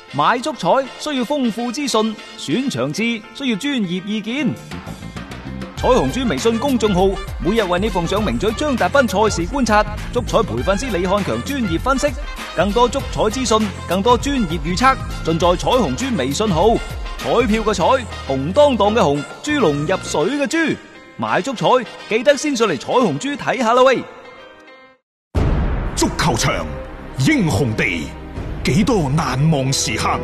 買足彩需要豐富資訊，選場次需要專業意見。彩虹豬微信公眾號每日為你奉上名嘴張達斌賽事觀察，足彩培訓師李漢強專業分析，更多足彩資訊，更多專業預測，盡在彩虹豬微信號。彩票嘅彩，紅當當嘅紅，豬籠入水嘅豬，買足彩記得先上嚟彩虹豬睇下啦喂！ 足球場，英雄地，幾多難忘時刻。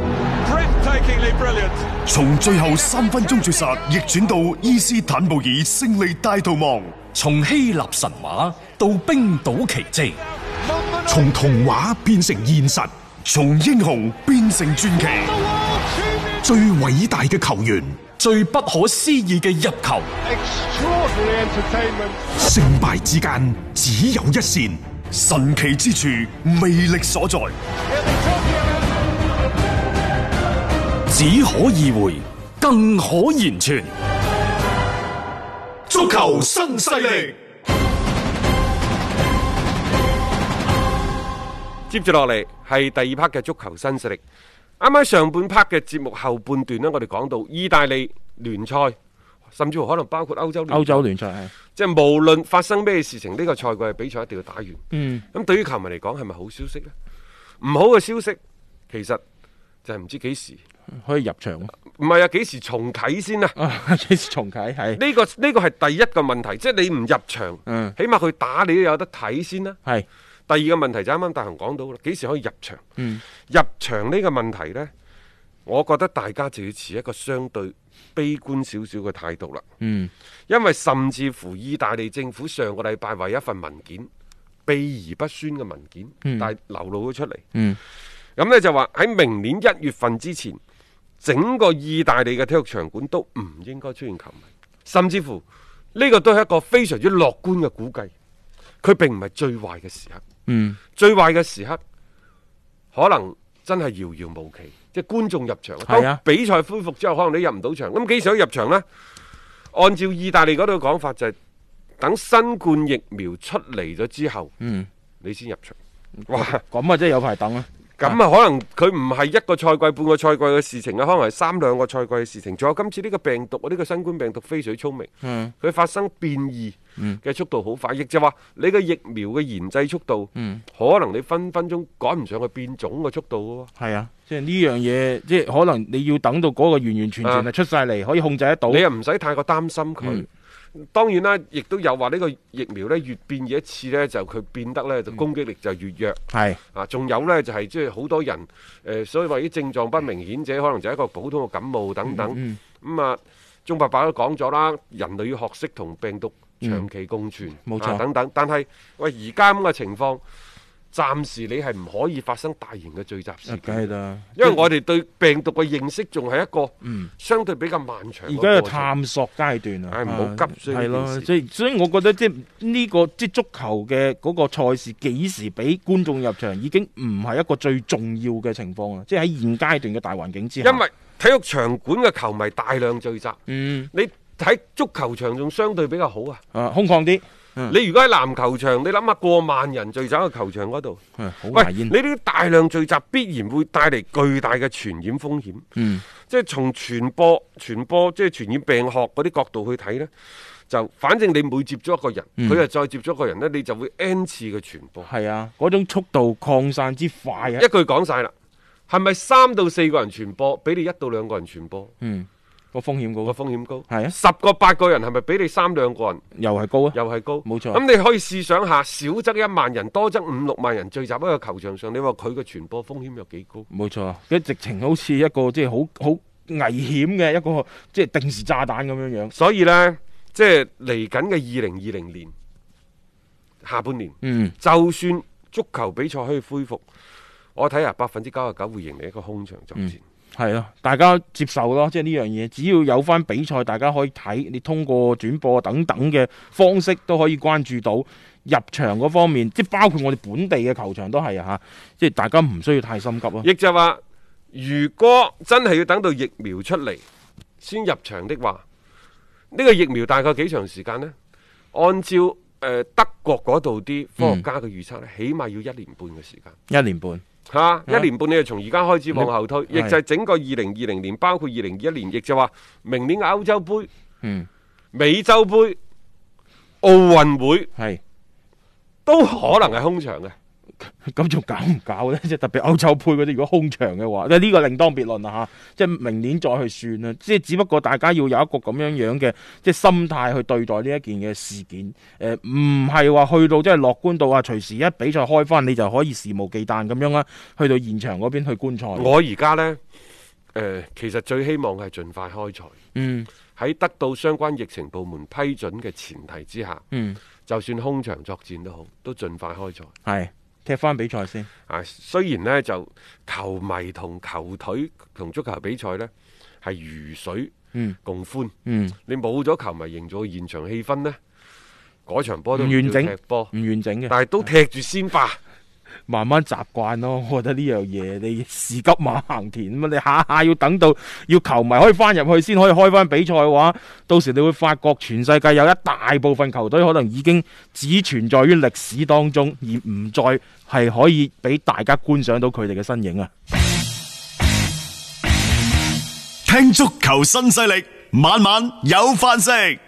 從最後3分鐘絕殺逆轉到伊斯坦布爾勝利大逃亡， 從希臘神話到冰島奇蹟， 從童話變成現實，從英雄變成傳奇。最偉大嘅球員， 最不可思議嘅入球， 勝敗之間只有一線，神奇之處魅力所在， 只可意會，更可言傳。 足球新勢力。 接住落嚟係第二 part 嘅足球新勢力。啱啱上半 part 嘅節目後半段呢，我哋講到意大利聯賽，甚至乎可能包括歐洲聯賽，係即係無論發生咩事情，呢個賽季嘅比賽一定要打完。咁對於球迷嚟講係咪好消息呢？唔好嘅消息其實就係唔知幾時可以入場。 唔係啊，幾時重啟先啊？ 幾時重啟？係呢個係第一個問題，即係你唔入場，起碼佢打你都有得睇先啦。係。第二個問題就啱啱大雄講到啦，幾時可以入場？入場呢個問題呢，我覺得大家就要持一個相對悲觀少少嘅態度啦。因為甚至乎意大利政府上個禮拜為一份文件秘而不宣嘅文件，但係流露咗出嚟。咁呢就話喺明年1月份之前，整個意大利嘅體育場館都唔應該出現球迷，甚至乎呢個都係一個非常之樂觀嘅估計。佢並唔係最壞嘅時刻。最壞嘅時刻可能真係遙遙無期，即係觀眾入場，當比賽恢復之後，可能你入唔到場。咁幾時可以入場呢？按照意大利嗰度講法，就係等新冠疫苗出嚟咗之後，你先入場。哇， 咁啊，真係有排等啊！ 咁啊，可能佢唔係一個賽季、半個賽季嘅事情啊，可能係3、2個賽季嘅事情。仲有今次呢個病毒，呢個新冠病毒非常聰明，佢發生變異嘅速度好快，亦就話你嘅疫苗嘅研製速度，可能你分分鐘趕唔上去變種嘅速度喎。係啊， 即係呢樣嘢，即係可能你要等到嗰個完完全全係出晒嚟，可以控制得到。 你又唔使太過擔心佢。當然啦，亦都有話呢個疫苗呢，越變異一次呢，就佢變得呢，就攻擊力就越弱。係啊，仲有呢，就係即係好多人所以話啲症狀不明顯者，可能就係一個普通嘅感冒等等。咁啊，鍾伯伯都講咗啦，人類要學識同病毒長期共存，冇錯等等。但係喂，而家咁嘅情況，暫時你係唔可以發生大型嘅聚集事件，因為我哋對病毒嘅認識仲係一個相對比較漫長。 而家係探索階段啊， 唔好急。係咯， 所以我覺得即係呢個即係足球嘅嗰個賽事幾時俾觀眾入場，已經唔係一個最重要嘅情況啦。即係喺現階段嘅大環境之下， 因為體育場館嘅球迷大量聚集，你喺足球場仲相對比較好啊， 空曠啲。 你如果喺籃球場，你諗下過萬人聚集喺球場嗰度，喂，你呢啲大量聚集必然會帶嚟巨大嘅傳染風險。即係從傳播即係傳染病學嗰啲角度去睇呢，就反正你每接觸一個人，佢又再接觸一個人呢，你就會 N 次嘅傳播。 係啊，嗰種速度擴散之快啊！ 一句講晒啦，係咪3到4個人傳播，比你1到2個人傳播？ 個風險高，係啊 ，10個8個人係咪比你3、2個人又係高啊？ 又係高，冇錯。咁你可以試想下，少則1萬人，多則5、6萬人聚集喺個球場上，你話佢嘅傳播風險有幾高？ 冇錯，一直情好似一個即係好危險嘅一個即係定時炸彈咁樣樣。 所以呢，即係嚟緊嘅2020年下半年，就算足球比賽可以恢復，我睇下99%會迎嚟一個空場作戰。 係咯，大家接受咯，即係呢樣嘢，只要有翻比賽，大家可以睇，你通過轉播等等嘅方式都可以關注到入場嗰方面，即係包括我哋本地嘅球場都係啊，即係大家唔需要太心急咯。 亦就話，如果真係要等到疫苗出嚟先入場的話，呢個疫苗大概幾長時間呢？按照德國嗰度啲科學家嘅預測呢，起碼要1年半嘅時間。 1年半。 一年半你就從而家開始往後推，亦就係整個2020年，包括2021年，亦就話明年嘅歐洲杯、美洲杯、奧運會，都可能係空場嘅。 咁仲搞唔搞呢？即係特別歐洲杯嗰啲，如果空場嘅話，呢個另當別論啦吓。即係明年再去算啦。即係只不過大家要有一個咁樣嘅即係心態去對待呢一件嘅事件。唔係話去到即係樂觀到隨時一比賽開翻，你就可以肆無忌憚咁樣啦，去到現場嗰邊去觀賽。 我而家呢，其實最希望係盡快開賽。喺得到相關疫情部門批准嘅前提之下，就算空場作戰都好，都盡快開賽。係。 踢翻比賽先。 雖然呢，就球迷同球隊同足球比賽呢係如水共歡。你冇咗球迷營造現場氣氛呢，嗰場波都唔完整，唔完整嘅。 但係都踢住先吧。 慢慢習慣咯，我覺得呢樣嘢你士急馬行田咁，你下下要等到要球迷可以翻入去先可以開翻比賽嘅話，到時你會發覺全世界有一大部分球隊可能已經只存在於歷史當中，而唔再係可以俾大家觀賞到佢哋嘅身影啊！ 聽足球新勢力，晚晚有飯食。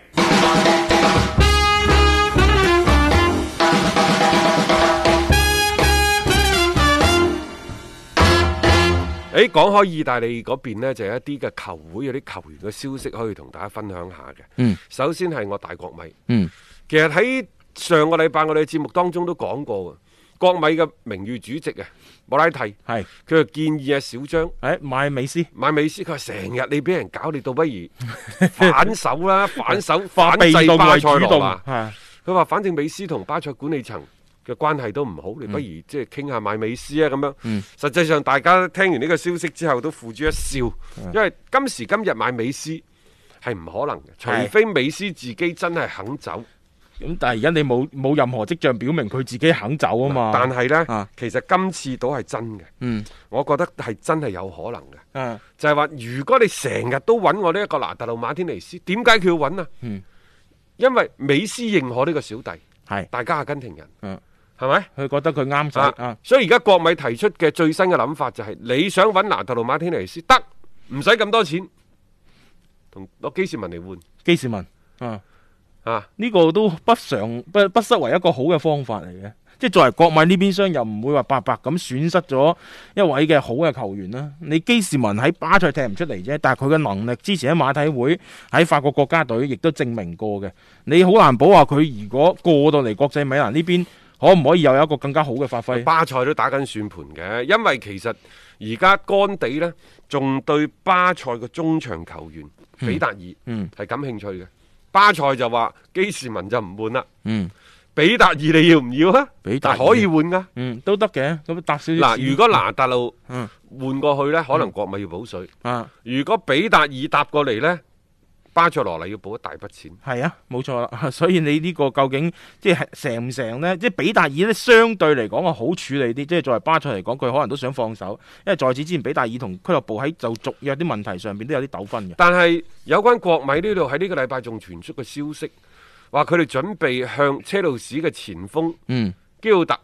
講開意大利嗰邊呢，就有一啲嘅球會有啲球員嘅消息可以同大家分享下嘅。首先係我大國米。其實喺上個禮拜我哋嘅節目當中都講過嘅，國米嘅名譽主席莫拉蒂佢就建議小張買美斯。 佢話成日你俾人搞，你倒不如反手啦，反制巴塞羅那。佢話反正美斯同巴塞管理層嘅關係都唔好，你不如即係傾下買美斯啊咁樣。實際上大家聽完呢個消息之後都付諸一笑，因為今時今日買美斯係唔可能嘅，除非美斯自己真係肯走。 咁但係而家你冇任何跡象表明佢自己肯走啊嘛。 但係呢，其實今次都係真嘅。我覺得係真係有可能嘅。就係話如果你成日都揾我呢一個拿特魯馬天尼斯，點解佢要揾啊？因為美斯認可呢個小弟，大家阿根廷人。係咪？佢覺得佢啱使。所以而家國米提出嘅最新嘅諗法就係，你想揾拿特魯馬天尼斯得，唔使咁多錢，同攞基士文嚟換。基士文，呢個都不失為一個好嘅方法嚟嘅。即係作為國米呢邊廂，又唔會話白白咁損失咗一位嘅好嘅球員啦。你基士文喺巴塞踢唔出嚟啫，但係佢嘅能力之前喺馬體會、喺法國國家隊亦都證明過嘅。你好難保話佢如果過到嚟國際米蘭呢邊，可唔可以又有一個更加好嘅發揮？巴塞都打緊算盤嘅，因為其實而家干地呢，仲對巴塞嘅中場球員比達爾係感興趣嘅。巴塞就話基士文就唔換啦。比達爾你要唔要啊？比達爾可以換噶，都得嘅。咁搭少少。嗱，如果拿達路換過去呢，可能國米要補水。如果比達爾搭過嚟呢，巴塞羅那要補一大筆錢。係啊，冇錯啦。所以你呢個究竟即係成唔成呢？即係比達爾呢，相對嚟講係好處理啲。即係作為巴塞嚟講，佢可能都想放手，因為在此之前比達爾同俱樂部喺就續約啲問題上邊都有啲糾紛嘅。但係有關國米呢度喺呢個禮拜仲傳出個消息。話佢哋準備向車路士嘅前鋒基奧特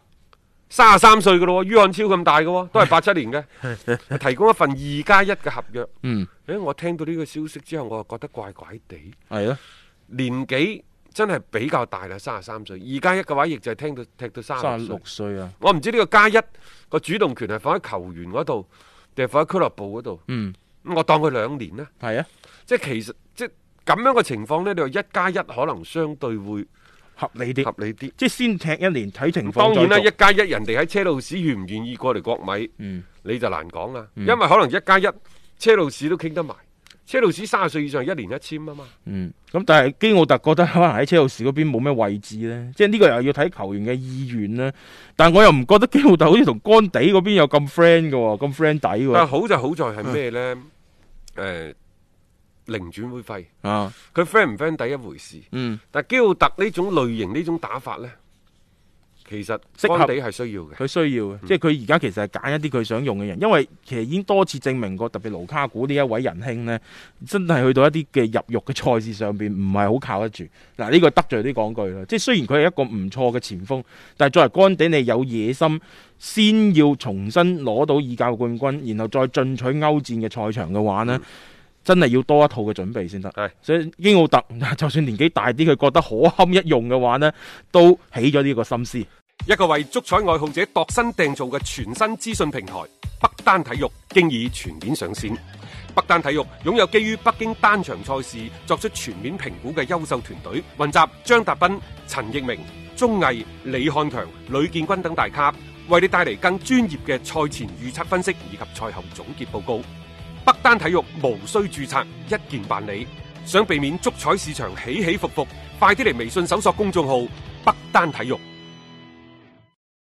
33歲嘅咯，于漢超咁大嘅，都係87年嘅，提供一份2+1嘅合約。我聽到呢個消息之後，我就覺得怪怪地。係啊，年紀真係比較大啦，33歲，2+1嘅話，亦就係踢到36歲啊。我唔知呢個+1個主動權係放喺球員嗰度，定係放喺俱樂部嗰度。我當佢2年啦。係啊，即係其實咁樣嘅情況呢，你話1+1可能相對會合理啲，即係先踢1年睇情況。當然啦，1+1人哋喺車路士願唔願意過嚟國米，你就難講啦。因為可能1+1車路士都傾得埋，車路士30歲以上1年1簽啊嘛。咁但係基奧特覺得可能喺車路士嗰邊冇咩位置呢，即係呢個又要睇球員嘅意願啦。但係我又唔覺得基奧特好似同干地嗰邊有咁 friend 嘅，咁 friend 底嘅。但係好就好在係咩呢？零轉會費佢 friend 唔 friend 第一回事。但係基奧特呢種類型呢種打法呢， 其實適合干地係需要嘅， 佢需要嘅，即係佢而家其實係揀一啲佢想用嘅人，因為其實已經多次證明過，特別盧卡古呢一位仁兄呢，真係去到一啲嘅入獄嘅賽事上邊唔係好靠得住。嗱，呢個得罪啲講句啦，即係雖然佢係一個唔錯嘅前鋒，但係作為干地，你有野心，先要重新攞到意甲冠軍，然後再進取歐戰嘅賽場嘅話呢，真係要多一套嘅準備先得。所以英奧特就算年紀大啲，佢覺得可堪一用嘅話呢，都起咗呢個心思。 一個為足彩愛好者度身訂造嘅全新資訊平台北單體育經已全面上線。北單體育擁有基於北京單場賽事作出全面評估嘅優秀團隊，雲集張達斌、陳奕明、鐘毅、李漢強、呂建軍等大咖，為你帶嚟更專業嘅賽前預測分析以及賽後總結報告。北單體育無需註冊，一鍵辦理。想避免足彩市場起起伏伏，快啲嚟微信搜索公眾號北單體育。